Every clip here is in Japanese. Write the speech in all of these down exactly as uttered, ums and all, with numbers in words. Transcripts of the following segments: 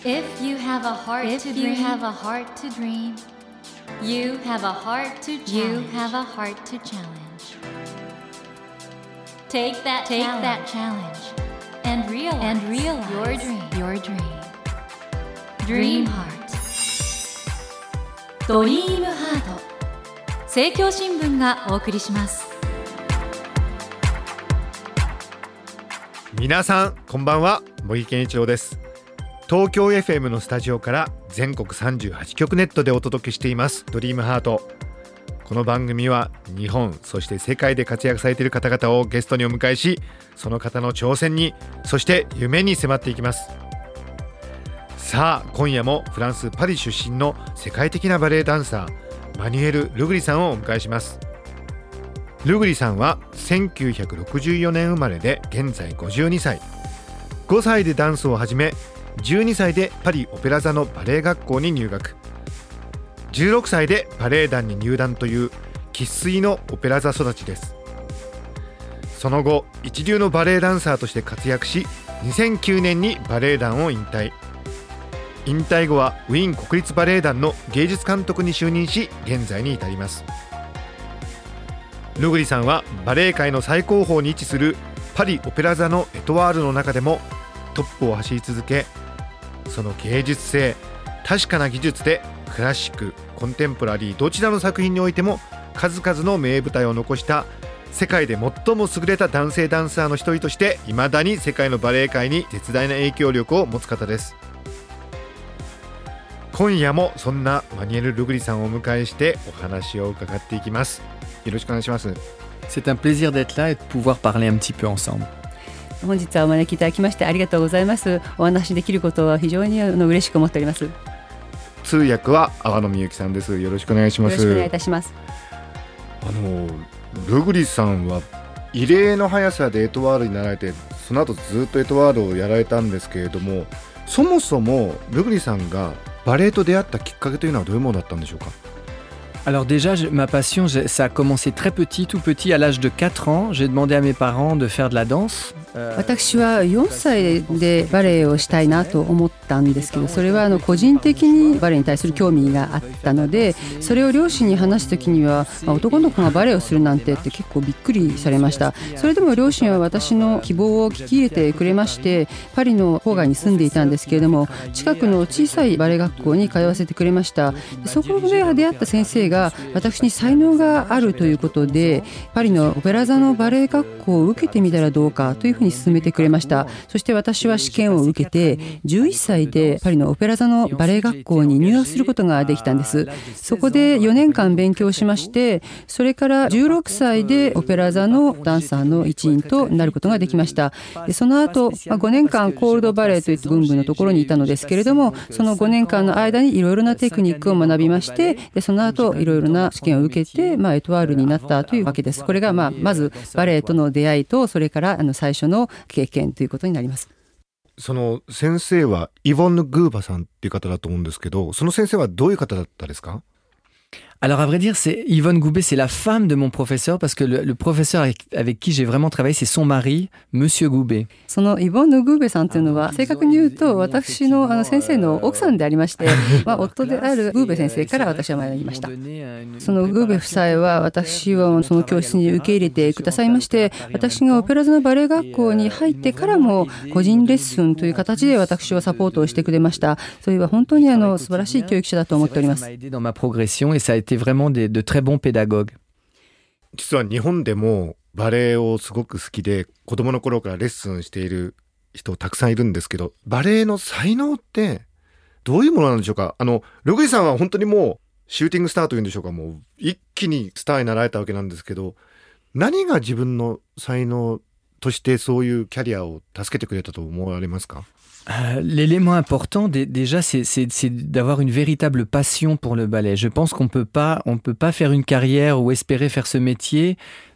If you have a heart to dream, you have a heart to dream. You have a heart to challenge. You have a heart to challenge. Take that Take challenge. that challenge and realize, and realize your dream. Your dream. Dream Heart. ドリームハート。政教新聞がお送りします。 皆さんこんばんは、茂木健一郎です。東京 エフエム のスタジオから全国さんじゅうはちきょくネットでお届けしていますドリームハート。この番組は日本そして世界で活躍されている方々をゲストにお迎えし、その方の挑戦にそして夢に迫っていきます。さあ今夜もフランスパリ出身の世界的なバレエダンサーマニュエル・ルグリさんをお迎えします。ルグリさんはせんきゅうひゃくろくじゅうよねん生まれで現在ごじゅうにさい。ごさいでダンスを始めじゅうにさいでパリオペラ座のバレエ学校に入学、じゅうろくさいでバレエ団に入団という生粋のオペラ座育ちです。その後一流のバレエダンサーとして活躍し、にせんきゅうねんにバレエ団を引退。引退後はウィーン国立バレエ団の芸術監督に就任し、現在に至ります。ルグリさんはバレエ界の最高峰に位置するパリオペラ座のエトワールの中でもトップを走り続け、その芸術性、確かな技術でクラシック、コンテンポラリーどちらの作品においても数々の名舞台を残した世界で最も優れた男性ダンサーの一人として未だに世界のバレエ界に絶大な影響力を持つ方です。今夜もそんなマニュエル・ルグリさんをお迎えしてお話を伺っていきます。よろしくお願いします。 C'est un plaisir d'être là et de pouvoir parler un petit peu ensemble。 本日はお招きいただきましてありがとうございます。お話しできることは非常に嬉しく思っております。 通訳は阿野美幸さんです。よろしくお願いします。 よろしくお願いいたします。 あのルグリさんは異例の速さでエトワールになられて、その後ずっとエトワールをやられたんですけれども、そもそもルグリさんがバレエと出会ったきっかけというのはどういうものだったんでしょうか。 Alors déjà, je, ma passion, je, ça a commencé très petit, tout petit, à l'âge de quatre ans. J'ai demandé à mes parents de faire de la danse. 私はよんさいでバレエをしたいなと思ったんですけど、それはあの個人的にバレエに対する興味があったので、それを両親に話すときには、まあ、男の子がバレエをするなんてって結構びっくりされました。それでも両親は私の希望を聞き入れてくれまして、パリの郊外に住んでいたんですけれども、近くの小さいバレエ学校に通わせてくれました。そこで出会った先生が私に才能があるということで、パリのオペラ座のバレエ学校を受けてみたらどうかというふうに勧めてくれました。そして私は試験を受けてじゅういっさいでパリのオペラ座のバレエ学校に入学することができたんです。そこでよねんかん勉強しまして、それからじゅうろくさいでオペラ座のダンサーの一員となることができました。でその後ごねんかんコールドバレエといった群舞のところにいたのですけれども、そのごねんかんの間にいろいろなテクニックを学びまして、でその後いろいろな試験を受けて、まあ、エトワールになったというわけです。これが、まあ、まずバレエとの出会いと、それからあの最初の経験ということになります。 その先生はイヴォンヌ・グーバさんっていう方だと思うんですけど、その先生はどういう方だったですか。 Alors à vrai dire, c'est Yvonne Goubet, c'est la femme de mon professeur, parce que le, le professeur avec, avec qui j'ai vraiment travaillé, c'est son mari, Monsieur Goubet. そのイヴォンヌ・グーベさんというのは、正確に言うと私のあの先生の奥さんでありまして、まあ、夫であるグーベ先生から私は学びました。そのグーベ夫妻は私をその教室に受け入れてくださいまして、私がオペラ座のバレエ学校に入ってからも個人レッスンという形で私をサポートをしてくれました。それは本当にあの素晴らしい教育者だと思っております。 vraiment de, de très bons pédagogues。 実は日本でもバレエをすごく好きで子供の頃からレッスンしている人たくさんいるんですけど、バレエの才能ってどういうものなんでしょうか。あのルグリさんは本当にもうシューティングスターというんでしょうか、もう一気にスターになられたわけなんですけど、何が自分の才能としてそういうキャリアを助けてくれたと思われますか。 Euh, l'élément important d- déjà c'est, c'est, c'est d'avoir une véritable passion pour le ballet. Je pense qu'on peut pas on peut pas faire une carrière ou espérer faire ce métier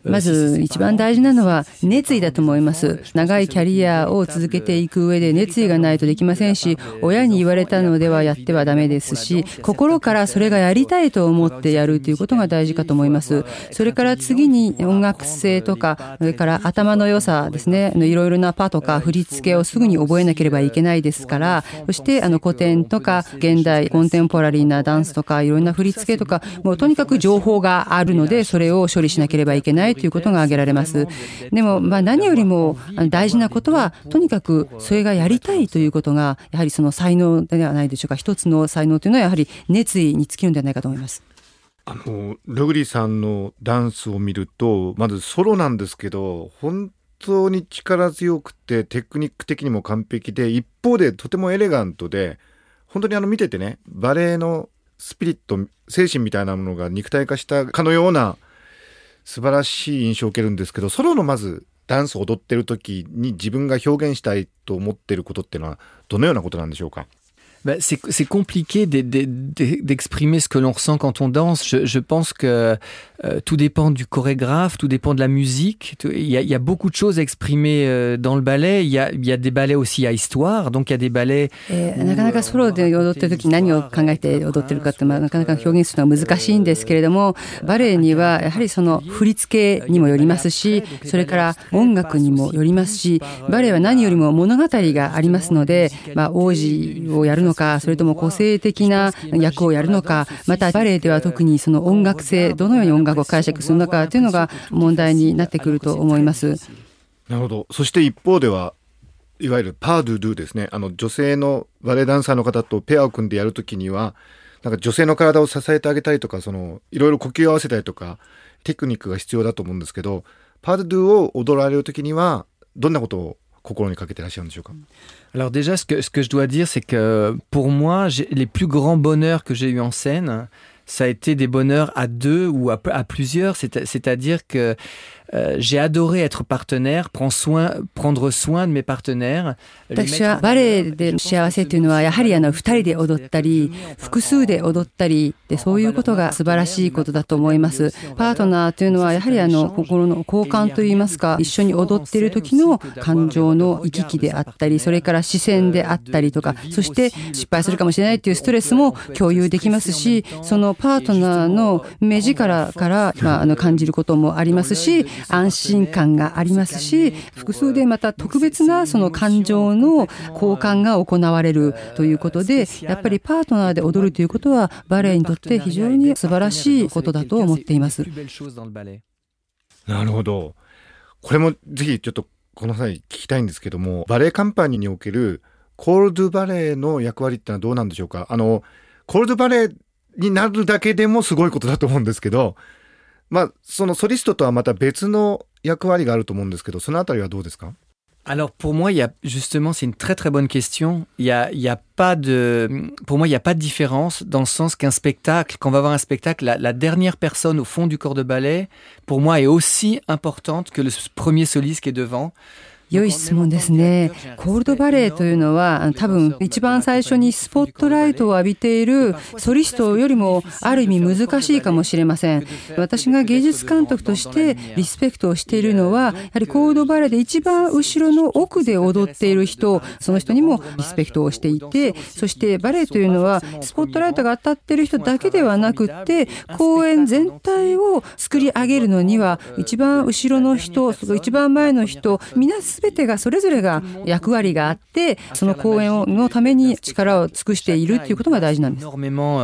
まず一番大事なのは熱意だと思います。長いキャリアを続けていく上で熱意がないとできませんし、親に言われたのではやってはダメですし、心からそれがやりたいと思ってやるということが大事かと思います。それから次に音楽性とか、それから頭の良さですね、いろいろなパとか振り付けをすぐに覚えなければいけないですから、そしてあの古典とか現代コンテンポラリーなダンスとかいろんな振り付けとか、もうとにかく情報があるので、それを処理しなければいけないということが挙げられます。でもまあ何よりも大事なことは、とにかくそれがやりたいということがやはりその才能ではないでしょうか。一つの才能というのはやはり熱意に尽きるんではないかと思います。 あのルグリさんのダンスを見ると、まずソロなんですけど本当に力強くてテクニック的にも完璧で、一方でとてもエレガントで、本当にあの見ててね、バレエのスピリット、精神みたいなものが肉体化したかのような素晴らしい印象を受けるんですけど、ソロのまずダンスを踊ってる時に自分が表現したいと思っていることっていうのはどのようなことなんでしょうか。 Ben, c'est, c'est compliqué de, de, de, d'exprimer ce que l'on ressent quand on danse. Je, je pense que euh, tout dépend du chorégraphe, tout dépend de la musique. Il y a, il y a beaucoup de choses à exprimer euh, dans le ballet. Il y a, il y a des ballets aussi à histoire. Donc il y a des ballets... えー、なかなかソロで踊ってる時に何を考えて踊ってるかって、まあ、なかなか表現するのは難しいんですけれども、バレエにはやはりその振り付けにもよりますし、それから音楽にもよりますし、バレエは何よりも物語がありますので、まあ、王子をやるのか、それとも個性的な役をやるのか、またバレエでは特にその音楽性、どのように音楽を解釈するのかというのが問題になってくると思います。 なるほど。そして一方ではいわゆるパードゥドゥですね。あの女性のバレエダンサーの方とペアを組んでやるときには、なんか女性の体を支えてあげたりとか、そのいろいろ呼吸を合わせたりとかテクニックが必要だと思うんですけど、パードゥドゥを踊られるときにはどんなことを心にかけてらっしゃるんでしょうか。 Alors déjà, ce que, ce que je dois dire, c'est que pour moi, j'ai, les plus grands bonheurs que j'ai eu en scène, ça a été des bonheurs à deux ou à, à plusieurs, c'est, c'est-à-dire que euh, j'ai adoré être partenaire, prendre soin, prendre soin de mes partenaires. 私はバレエで幸せというのはやはりあの二人で踊ったり複数で踊ったりで、そういうことが素晴らしいことだと思います。パートナーというのはやはりあの心の交換といいますか、一緒に踊っている時の感情の行き来であったり、それから視線であったりとか、そして失敗するかもしれないというストレスも共有できますし、そのパートナーの目力から、まあ、あの感じることもありますし、安心感がありますし、複数でまた特別なその感情の交換が行われるということで、やっぱりパートナーで踊るということはバレエにとって非常に素晴らしいことだと思っています。 なるほど。これもぜひちょっとこの際聞きたいんですけども、バレエカンパニーにおけるコールドバレエの役割ってのはどうなんでしょうか。あのコールドバレエになるだけでもすごいことだと思うんですけど、まあそのソリストとはまた別の役割があると思うんですけど、そのあたりはどうですか。 Alors pour moi, il y a justement, c'est une très très bonne question. Il y a, il y a pas de, pour moi, il y a pas de différence dans le sens qu'un spectacle, quand on va voir un spectacle, la, la dernière personne au fond du corps de ballet, pour moi, est aussi importante que le premier soliste qui est devant. 良い質問ですね。コールドバレエというのは多分一番最初にスポットライトを浴びているソリストよりもある意味難しいかもしれません。私が芸術監督としてリスペクトをしているのは、やはりコールドバレエで一番後ろの奥で踊っている人、その人にもリスペクトをしていて、そしてバレエというのはスポットライトが当たっている人だけではなくって、公演全体を作り上げるのには一番後ろの人、一番前の人、皆すべてがそれぞれが役割があって、その公演のために力を尽くしているということが大事なんです。 あ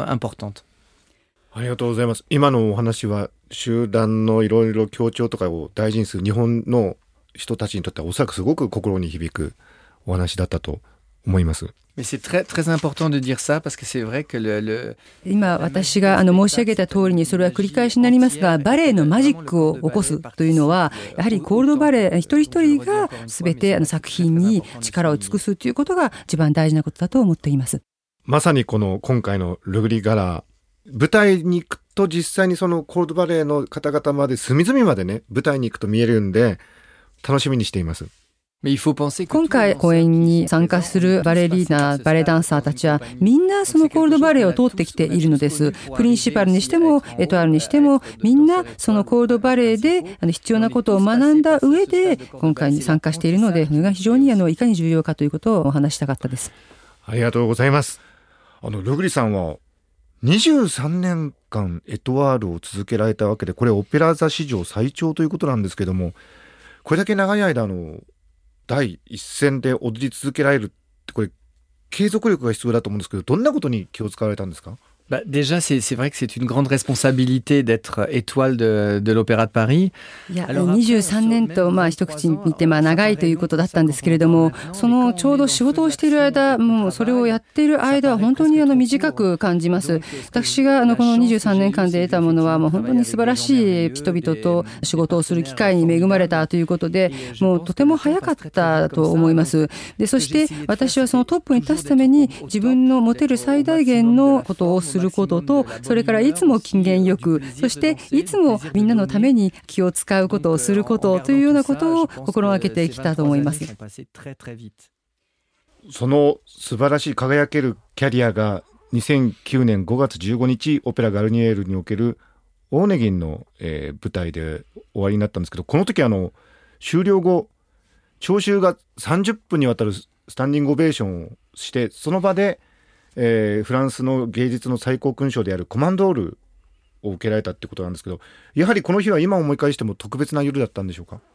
りがとうございます。今のお話は集団のいろいろ協調とかを大事にする日本の人たちにとってはおそらくすごく心に響くお話だったと思います。 Mais c'est très très important de dire ça parce que c'est vrai que le, le 今私があの申し上げた通りにそれは繰り返しになりますが、バレエのマジックを起こすというのはやはりコールドバレエ一人一人が全てあの作品に力を尽くすということが一番大事なことだと思っています。 まさにこの今回のルグリガラ舞台に行くと実際にそのコールドバレエの方々まで隅々までね舞台に行くと見えるんで楽しみにしています。 今回公演に参加するバレリーナ、バレエダンサーたちはみんなそのコールドバレエを通ってきているのです。プリンシパルにしてもエトワールにしてもみんなそのコールドバレエで必要なことを学んだ上で今回に参加しているので、それが非常にあのいかに重要かということをお話したかったです。 ありがとうございます。あのルグリさんはにじゅうさんねんかんエトワールを続けられたわけで、これオペラ座史上最長ということなんですけども、これだけ長い間の第一線で踊り続けられるって、これ継続力が必要だと思うんですけど、どんなことに気を使われたんですか？ Bah, déjà, c'est, c'est vrai que c'est une grande responsabilité d'être étoile de, de l'Opéra de Paris. いや、にじゅうさんねんと、まあ、一口に見て、まあ、長いということだったんですけれども、そのちょうど仕事をしている間、もうそれをやっている間は本当にあの短く感じます。私があのこのにじゅうさんねんかんで得たものは、もう本当に素晴らしい人々と仕事をする機会に恵まれたということで、もうとても早かったと思います。で、そして私はそのトップに立つために自分の持てる最大限のことをすることと、それからいつも機嫌よく、そしていつもみんなのために気を使うことをすることというようなことを心がけてきたと思います。 その素晴らしい輝けるキャリアがにせんきゅうねんごがつじゅうごにちオペラガルニエールにおけるオーネギンの、えー、舞台で終わりになったんですけど、この時あの終了後聴衆がさんじゅっぷんにわたるスタンディングオベーションをして、その場でえー、フランスの芸術の最高勲章であるコマンドールを受けられたってことなんですけど、やはりこの日は今思い返しても特別な夜だったんでしょうか？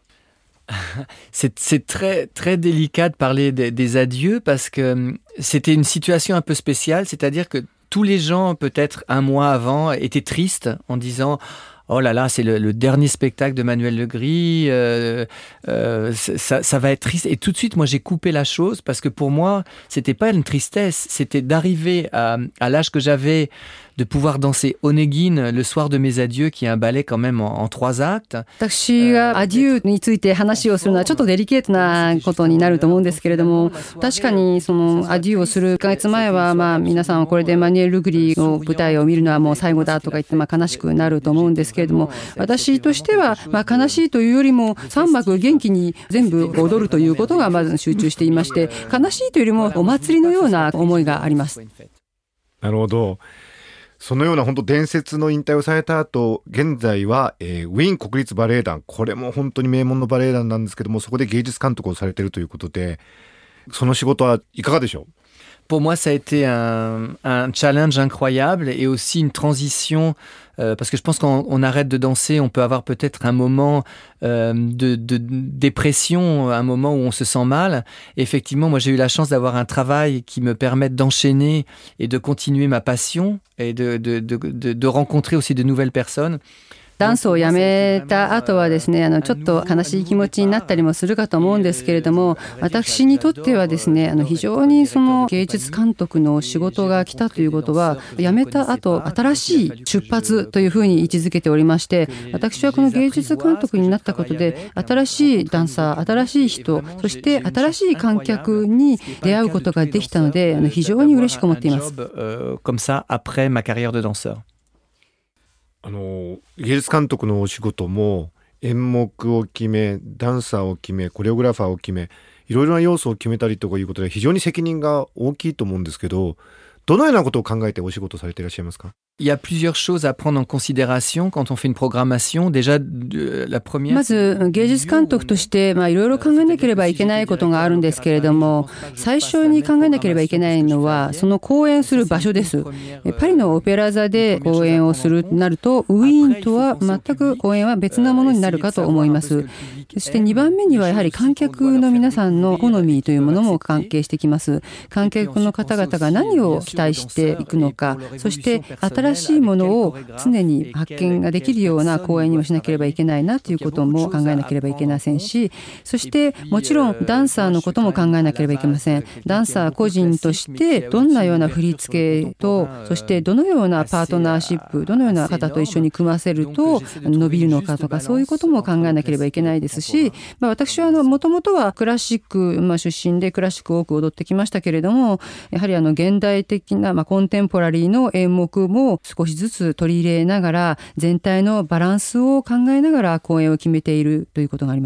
C'est, c'est très, très délicat de parler des, des adieux parce que c'était une situation un peu spéciale, c'est-à-dire que tous les gens, peut-être un mois avant, étaient tristes en disant oh là là, c'est le, le dernier spectacle de Manuel Legris, euh, euh, ça, ça va être triste. Et tout de suite, moi, j'ai coupé la chose parce que pour moi, c'était pas une tristesse, c'était d'arriver à, à l'âge que j'avais, de pouvoir danser Onegin le soir de mes adieux, qui est un ballet quand même en, en trois actes. 私がアデューについて話をするのはちょっとデリケートなことになると思うんですけれども、確かにそのアデューをするいっかげつまえは、まあ皆さんはこれでマニュエル・ルグリの舞台を見るのはもう最後だとか言ってまあ悲しくなると思うんですけれども、私としてはまあ悲しいというよりもさんまく元気に全部踊るということがまず集中していまして、悲しいというよりもお祭りのような思いがあります。 なるほど。そのような本当伝説の引退をされた後、現在は、えー、ウィーン国立バレエ団、これも本当に名門のバレエ団なんですけども、そこで芸術監督をされているということで、その仕事はいかがでしょう ？Pour moi, ça a été un, un challenge incroyable et aussi une transition, euh, parce que je pense qu'on on arrête de danser, on peut avoir peut-être un moment euh, de, de dépression, un moment où on se sent mal. Et effectivement, moi, j'ai eu la chance d'avoir un travail qui me permette d'enchaîner et de continuer ma passion et de, de, de, de, de rencontrer aussi de nouvelles personnes. ダンスをやめた後はですね、あのちょっと悲しい気持ちになったりもするかと思うんですけれども、私にとってはですね、あの非常にその芸術監督の仕事が来たということは、やめた後新しい出発というふうに位置づけておりまして、私はこの芸術監督になったことで、新しいダンサー、新しい人、そして新しい観客に出会うことができたので、あの非常に嬉しく思っています。 Comme ça après ma carrière de danseur. あの芸術監督のお仕事も演目を決め、ダンサーを決め、コレオグラファーを決め、いろいろな要素を決めたりとかいうことで非常に責任が大きいと思うんですけど、どのようなことを考えてお仕事されていらっしゃいますか ？Il y a plusieurs choses à prendre en considération quand on fait une programmation. Déjà, la première. まず芸術監督としてまあいろいろ考えなければいけないことがあるんですけれども、最初に考えなければいけないのはその公演する場所です。パリのオペラ座で公演をするとなると、ウィーンとは全く公演は別なものになるかと思います。そしてにばんめにはやはり観客の皆さんの好みというものも関係してきます。観客の方々が何を期待していくのか、そして新しいものを常に発見ができるような公演にもしなければいけないなということも考えなければいけませんし、そしてもちろんダンサーのことも考えなければいけません。ダンサー個人としてどんなような振り付けと、そしてどのようなパートナーシップ、どのような方と一緒に組ませると伸びるのかとか、そういうことも考えなければいけないですし、まあ、私はもともとはクラシック、まあ、出身でクラシックを多く踊ってきましたけれども、やはりあの現代的な、まあ、コンテンポラリーの演目も少しずつ取り入れながら、全体のバランスを考えながら公演を決めているということがあります。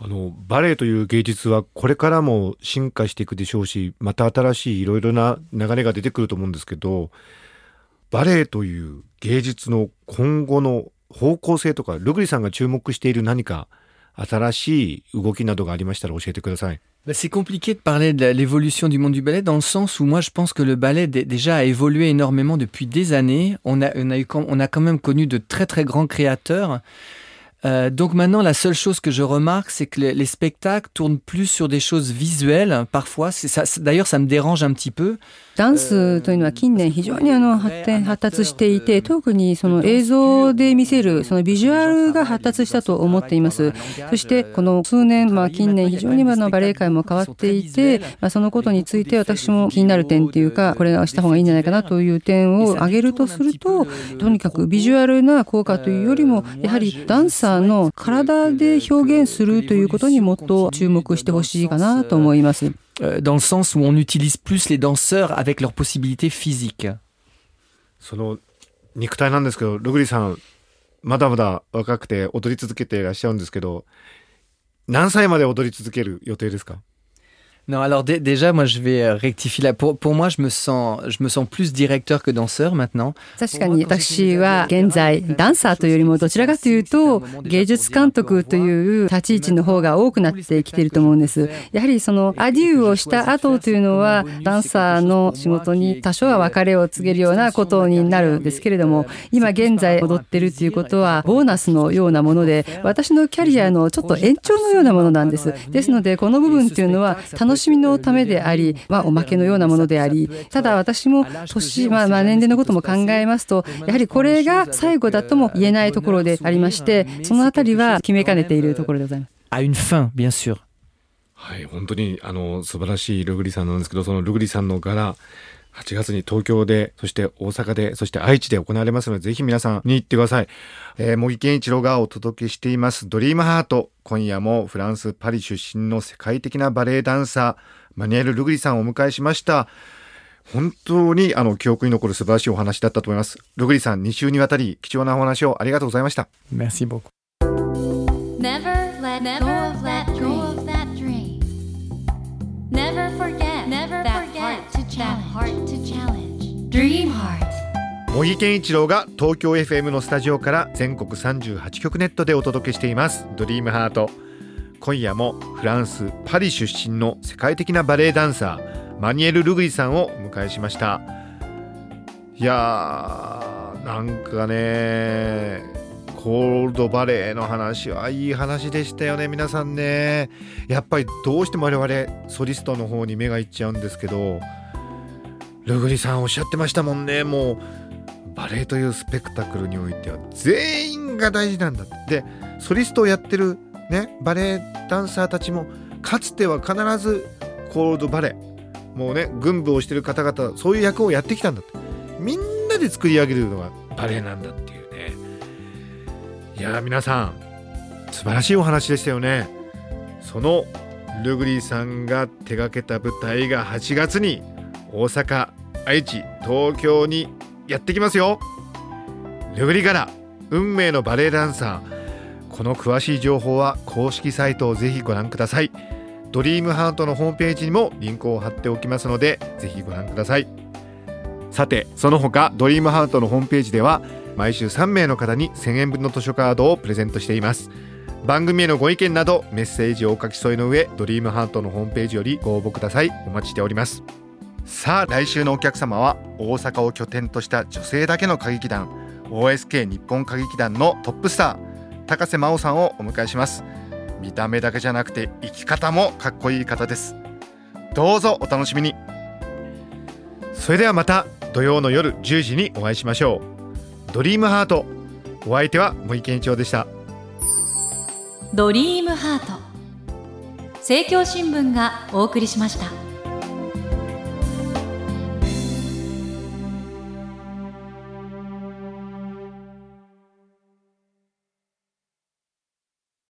あのバレエという芸術はこれからも進化していくでしょうし、また新しいいろいろな流れが出てくると思うんですけど、バレエという芸術の今後の方向性とか、ルグリさんが注目している何か新しい動きなどがありましたら教えてください。 C'est compliqué de parler de l'évolution du monde du ballet dans le sens où moi je pense que le ballet d- déjà a évolué énormément depuis des années. On a, on a, eu, on a quand même connu de très très grands créateurs. Euh, donc maintenant, la seule chose que je remarque, c'est que les, les spectacles tournent plus sur des choses visuelles. Parfois, c'est ça, d'ailleurs, ça me dérange un petit peu. ダンスというのは近年非常にあの発展発達していて、特にその映像で見せるそのビジュアルが発達したと思っています。そしてこの数年、まあ近年非常にあのバレエ界も変わっていて、まあ、そのことについて私も気になる点というか、これはした方がいいんじゃないかなという点を挙げるとすると、とにかくビジュアルな効果というよりも、やはりダンサーの体で表現するということにもっと注目してほしいかなと思います。 Dans le sens où on utilise plus les danseurs avec leurs possibilités physiques. その肉体なんですけど、ルグリさんまだまだ若くて踊り続けていらっしゃるんですけど、何歳まで踊り続ける予定ですか？ Non, alors d- déjà, moi, je vais rectifier là. Pour, pour moi, je me sens, je me sens plus directeur que danseur maintenant. 確かに私は現在ダンサーというよりもどちらかというと芸術監督という立ち位置の方が多くなってきていると思うんです。やはりそのアデューをした後というのはダンサーの仕事に多少は別れを告げるようなことになるんですけれども、今現在踊ってるということはボーナスのようなもので、私のキャリアのちょっと延長のようなものなんです。ですのでこの部分というのは楽しみのためであり、まあ、おまけのようなものであり、ただ私も年、まあ、まあ年齢のことも考えますと、やはりこれが最後だとも言えないところでありまして、そのあたりは決めかねているところでございます。 À une fin, bien sûr. はい、本当にあの素晴らしいルグリさんなんですけど、そのルグリさんの柄はちがつに東京で、そして大阪で、そして愛知で行われますので、ぜひ皆さんに行ってください。えー、茂木健一郎がお届けしていますドリームハート。今夜もフランス・パリ出身の世界的なバレエダンサーマニュエル・ルグリさんをお迎えしました。本当にあの記憶に残る素晴らしいお話だったと思います。ルグリさん、に週にわたり貴重なお話をありがとうございました。 Merci beaucoup. Never let go of that dream. Never forget that heart to challenge. Dream Heart. 茂木健一郎が東京 エフエム のスタジオから全国さんじゅうはちきょくネットでお届けしていますドリームハート。今夜もフランス・パリ出身の世界的なバレエダンサーマニュエル・ルグリさんをお迎えしました。いやー、なんかね、コールドバレエの話はいい話でしたよね。皆さんね、やっぱりどうしても我々ソリストの方に目がいっちゃうんですけど、ルグリさんおっしゃってましたもんね。もうバレエというスペクタクルにおいては全員が大事なんだって。でソリストをやってるね、バレエダンサーたちもかつては必ずコールドバレエ、もうね軍部をしてる方々、そういう役をやってきたんだって。みんなで作り上げるのがバレエなんだっていうね。いやー、皆さん素晴らしいお話でしたよね。そのルグリさんが手掛けた舞台がはちがつに大阪、愛知、東京にやってきますよ。ルグリ柄運命のバレエダンサー。この詳しい情報は公式サイトをぜひご覧ください。ドリームハートのホームページにもリンクを貼っておきますので、ぜひご覧ください。さて、その他ドリームハートのホームページでは毎週さんめいの方にせんえんぶんの図書カードをプレゼントしています。番組へのご意見などメッセージをお書き添えの上、ドリームハートのホームページよりご応募ください。お待ちしております。さあ、来週のお客様は大阪を拠点とした女性だけの歌劇団 オーエスケー 日本歌劇団のトップスター高瀬真央さんをお迎えします。見た目だけじゃなくて生き方もかっこいい方です。どうぞお楽しみに。それではまた土曜の夜じゅうじにお会いしましょう。ドリームハート、お相手は森健一郎でした。 ドリームハート、政教新聞がお送りしました。